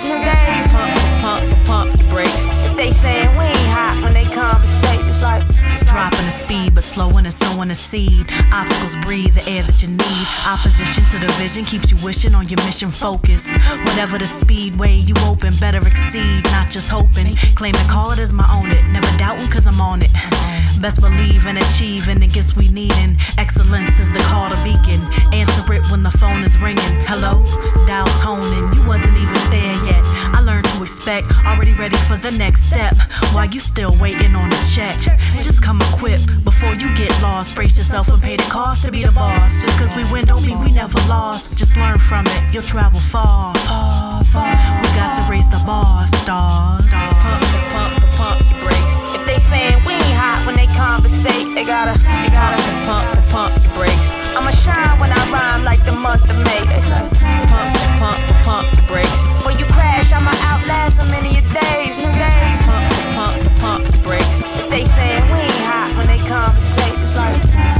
Pump your brakes. If they saying we ain't hot when they conversate, it's like dropping the speed, but slowing and sowing a seed. Obstacles breathe the air that you need. Opposition to the vision keeps you wishing on your mission focus. Whatever the speedway you open, better exceed, not just hoping. Claim and call it as my own it. Never doubting cause I'm on it. Best believe in achieving the gifts we need. And excellence is the call to beacon. Answer it when the phone is ringing. Hello? Dial toning. You wasn't even there yet. I learned to expect. Already ready for the next step. While you still waiting on a check. Just come equipped before you get lost. Brace yourself and pay the cost to be the boss. Just cause we win don't mean we never lost. Just learn from it. You'll travel far. We got to raise the bar, stars. Pump your brakes. If they saying we ain't hot when they conversate, they gotta pump your brakes. I'ma shine when I rhyme like the month of May. They say pump your brakes. When you crash, I'ma outlast so many of days. Pump your brakes. If they saying we ain't hot when they conversate, it's like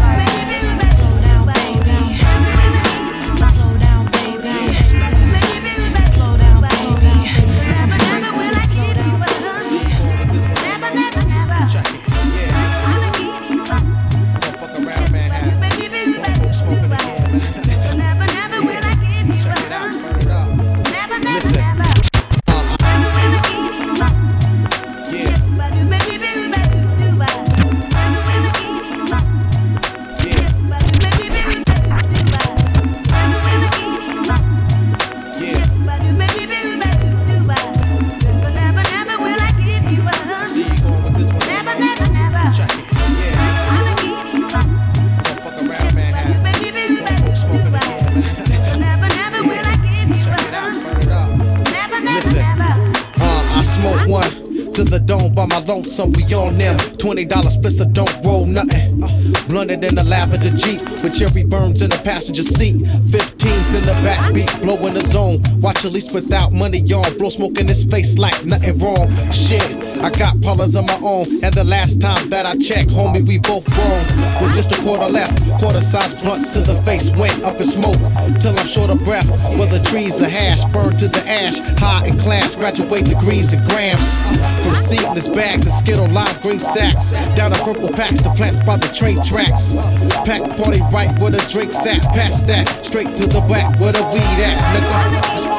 lonesome, we on them. $20 splits, so don't roll nothing. Blunted in the lavender Jeep with cherry burns in the passenger seat. 15s in the backbeat, blowing the zone. Watch at least without money on. Blow smoke in his face like nothing wrong. Shit, I got parlors of my own. And the last time that I checked, homie, we both grown. With just a quarter left, quarter-sized blunts to the face went up in smoke. Till I'm short of breath, where the trees are hash. Burned to the ash, high in class. Graduate degrees and grams. From seedless bags and Skittle lime green sacks. Down to purple packs, the plants by the train tracks. Pack party right where the drinks at. Past that, straight to the back where the weed at, nigga.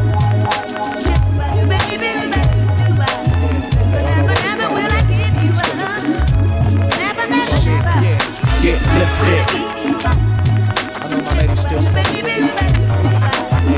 Get lifted. I know my lady's still smoking.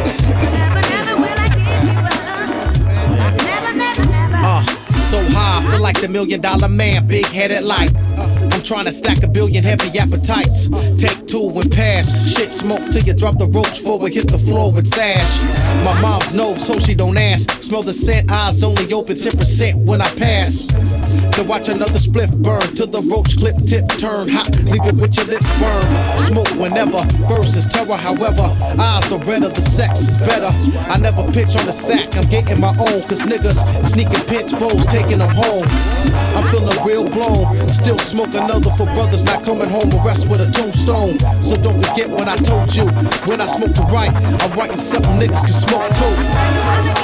So high, feel like the $1 million man, big headed like. I'm trying to stack a billion heavy appetites. Take two and pass. Shit smoke till you drop the roach forward, hit the floor with sash. My mom's knows so she don't ask. Smell the scent, eyes only open 10% when I pass. Then watch another spliff burn till the roach clip tip turn hot. Leave it with your lips burn. Smoke whenever, versus terror. However, eyes are redder, the sex is better. I never pitch on the sack, I'm getting my own. Cause niggas sneaking pinch bowls, taking them home. I'm feeling real blown. Still smoke another for brothers not coming home. Arrest with a tombstone. So don't forget what I told you. When I smoke to write, I'm writing something niggas can smoke too.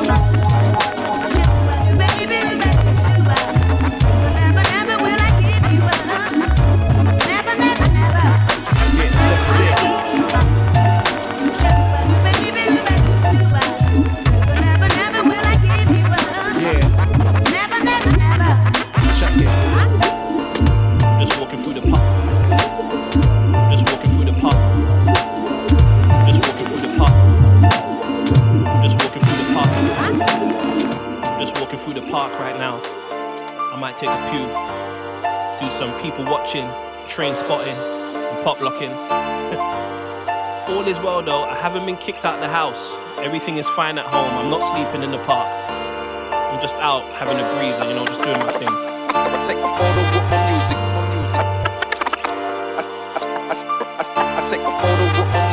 Take a pew, do some people watching, train spotting, and pop locking. All is well though, I haven't been kicked out the house. Everything is fine at home, I'm not sleeping in the park. I'm just out having a breather, you know, just doing my thing. I take a photo with my music. I take a photo with my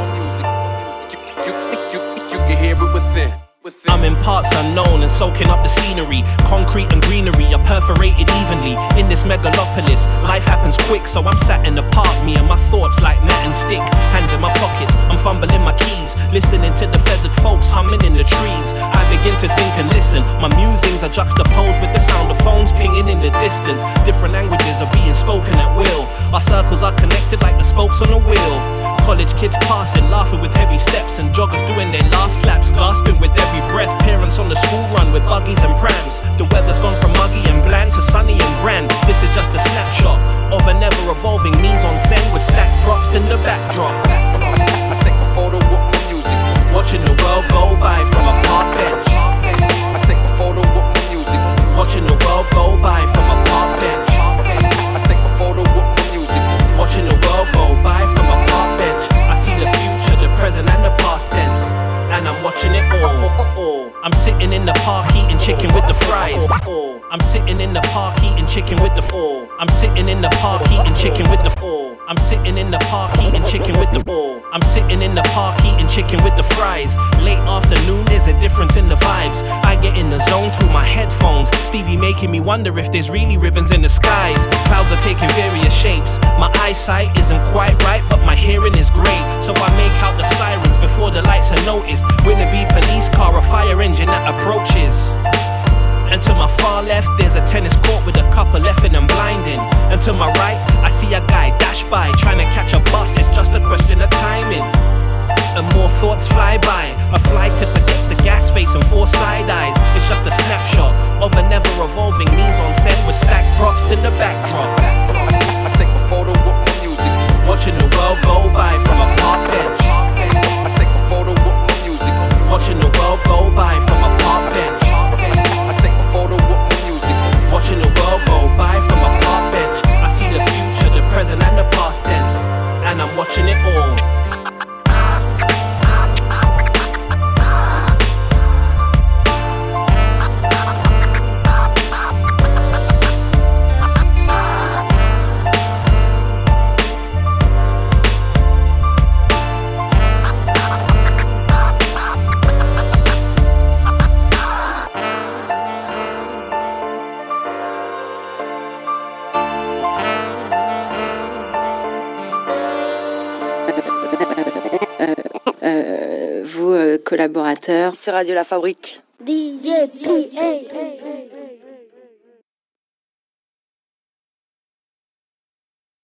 music. You can hear it within. I'm in parts unknown and soaking up the scenery. Concrete and greenery are perforated evenly. In this megalopolis, life happens quick, so I'm sat in the park, me and my thoughts like gnat and stick. Hands in my pockets, I'm fumbling my keys, listening to the feathered folks humming in the trees. I begin to think and listen. My musings are juxtaposed with the sound of phones pinging in the distance. Different languages are being spoken at will. Our circles are connected like the spokes on a wheel. College kids passing, laughing with heavy steps, and joggers doing their last laps, gasping with every breath. Parents on the school run with buggies and prams. The weather's gone from muggy and bland to sunny and grand. This is just a snapshot of an ever-evolving mise-en-scène with stacked props in the backdrop. I take a photo with my music. Watching the world go by from a park bench. I take a photo with my music. Watching the world go by from a park bench. I take a photo with my music. Watching the world go by from a park bench. I see the future, the present and the past tense, and I'm watching it all. I'm sitting in the park eating chicken with the fries. I'm sitting in the park eating chicken with the I'm sitting in the park eating chicken with the I'm sitting in the park eating chicken with the I'm sitting in the park eating chicken with the fries. Late afternoon, there's a difference in the vibes. I get in the zone through my headphones. Stevie making me wonder if there's really ribbons in the skies. Clouds are taking various shapes. My eyesight isn't quite right, but my hearing is great. So I make out the sirens before the lights are noticed. Will it be police car or fire engine that approaches? And to my far left, there's a tennis court with a couple effing and blinding. And to my right, I see a guy dash by, trying to catch a bus, it's just a question of timing. And more thoughts fly by. A fly tip against the gas face and four side eyes. It's just a snapshot of an ever-evolving mise-en-scène with stacked props in the backdrop. I take a photo with my music. Watching the world go by from a park bench. I take a photo with my music. Watching the world go by from a park bench. I take a photo with my music. Watching the world go by from a park bench. I see the future, the present and the past tense, and I'm watching it all. Collaborateurs sur Radio La Fabrique. DJ PA.